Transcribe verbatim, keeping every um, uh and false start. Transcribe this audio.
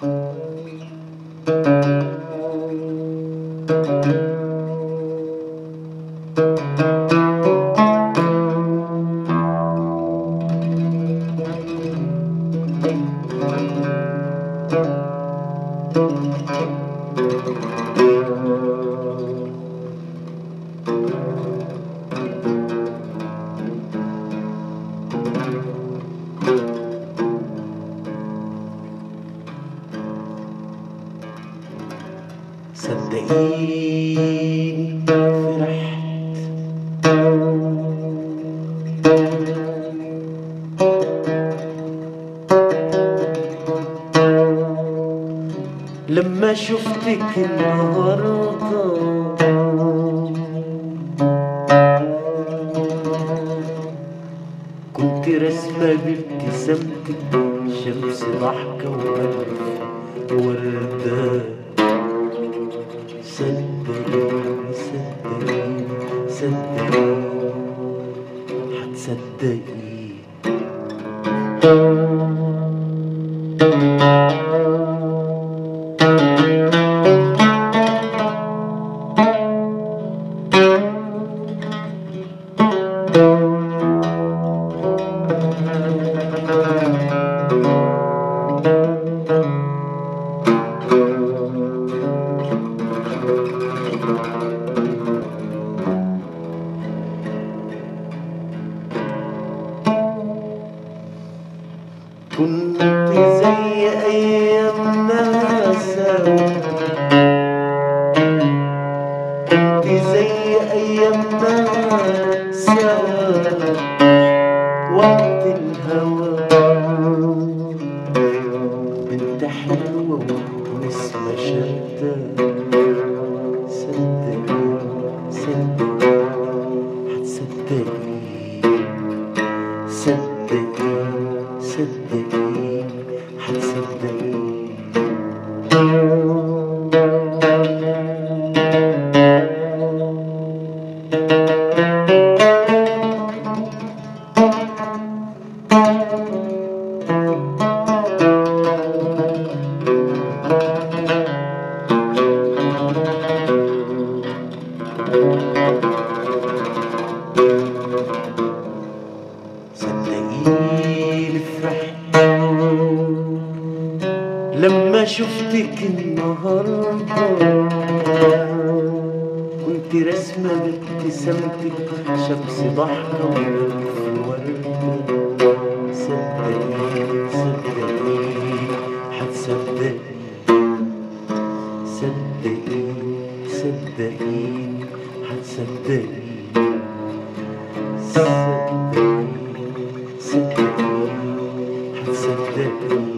صدقيني فرحت لما شفتك النهارده، كنت رسمة بابتسامتك شمس ضحكة وألف وردة. صدقيني صدقيني صدقيني هتصدقيني. كنت زي أيامنا سوا، كنت زي أيامنا سوا وقت الهوى. بنت حلوة ونسمة شدة. صدقيني صدقيني هتصدقيني. صدقيني صدقيني هتصدقيني. صدقيني فرحت لما شفتك النهارده، كنت رسمة بابتسامتك شمس ضحكة وألف وردة. صدقيني صدقيني هتصدقيني. صدقيني صدقيني هتصدقيني. صدقيني صدقيني هتصدقيني.